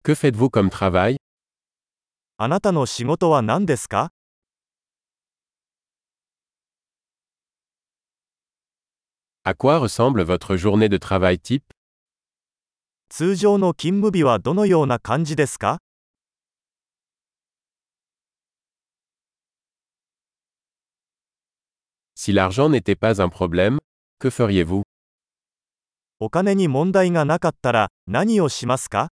Que faites-vous comme travail? あなたの仕事は何ですか？ À quoi ressemble votre journée de travail type? 通常の勤務日はどのような感じですか？ Si l'argent n'était pas un problème, que feriez-vous? お金に問題がなかったら何をしますか？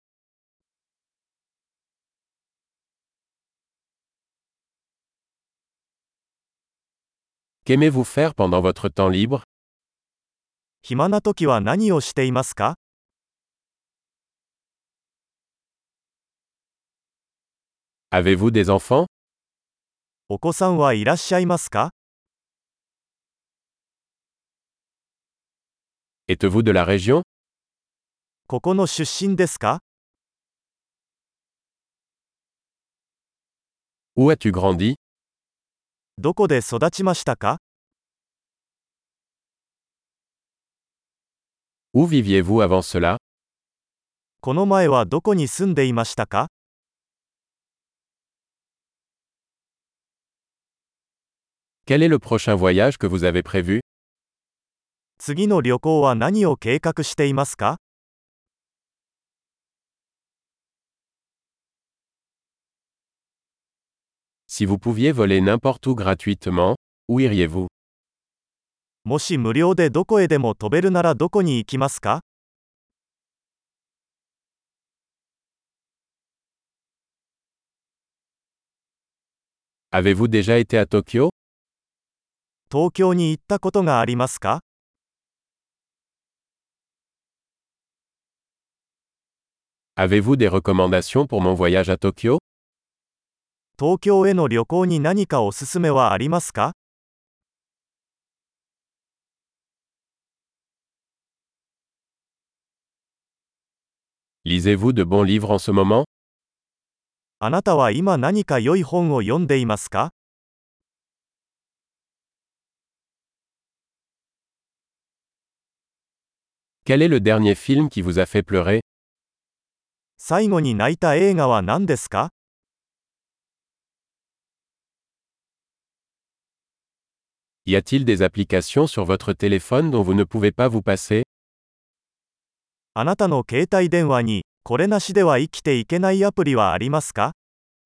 Qu'aimez-vous faire pendant votre temps libre? 暇な時は何をしていますか？ Avez-vous des enfants? お子さんはいらっしゃいますか？ Êtes-vous de la région? ここの出身ですか？ Où as-tu grandi? どこで育ちましたか？ Où viviez-vous avant cela? この前はどこに住んでいましたか？ Quel est le prochain voyage que vous avez prévu? 次の旅行は何を計画していますか？ Si vous pouviez voler n'importe où gratuitement, où iriez-vous? もし無料でどこへでも飛べるならどこに行きますか？ Avez-vous déjà été à Tokyo? 東京に行ったことがありますか？ Avez-vous des recommandations pour mon voyage à Tokyo? 東京への旅行に何かおすすめはありますか？ Lisez-vous de bons livres en ce moment? あなたは今何か良い本を読んでいますか？ Quel est le dernier film qui vous a fait pleurer? 最後に泣いた映画は何ですか？ Y a-t-il des applications sur votre téléphone dont vous ne pouvez pas vous passer? あなたの携帯電話にこれなしでは生きていけないアプリはありますか？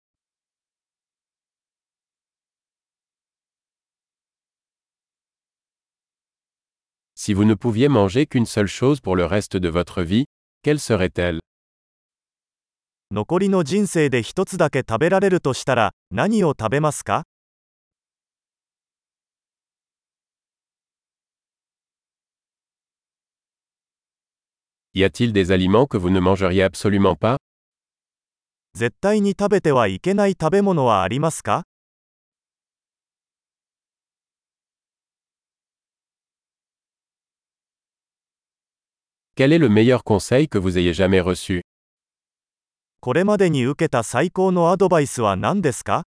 Si vous ne pouviez manger qu'une seule chose pour le reste de votre vie, quelle serait-elle? 残りの人生で一つだけ食べられるとしたら何を食べますか？ Y a-t-il des aliments que vous ne mangeriez absolument pas? 絶対に食べてはいけない食べ物はありますか？ Quel est le meilleur conseil que vous ayez jamais reçu? これまでに受けた最高のアドバイスは何ですか？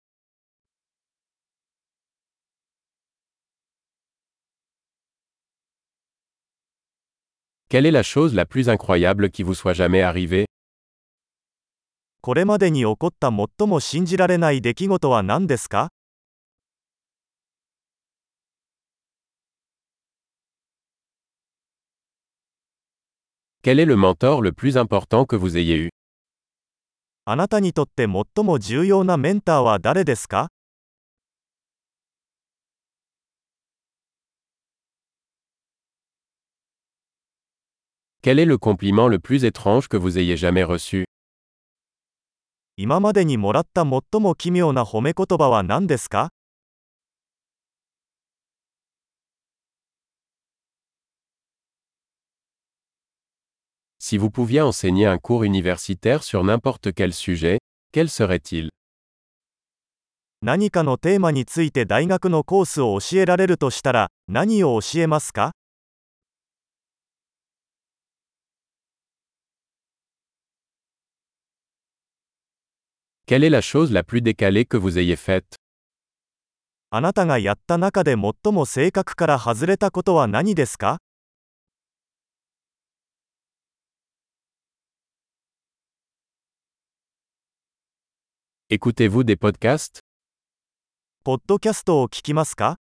Quelle est la chose la plus incroyable qui vous soit jamais arrivée? これまでに起こった最も信じられない出来事は何ですか？ Quel est le mentor le plus important que vous ayez eu? あなたにとって最も重要なメンターは誰ですか？ Quel est le compliment le plus étrange que vous ayez jamais reçu? 今までにもらった最も奇妙な褒め言葉は何ですか？ Si vous pouviez enseigner un cours universitaire sur n'importe quel sujet, quel serait-il? 何かのテーマについて大学のコースを教えられるとしたら何を教えますか？ Quelle est la chose la plus décalée que vous ayez faite? あなたがやった中で最も性格から外れたことは何ですか？ Écoutez-vous des podcasts? ポッドキャストを聞きますか？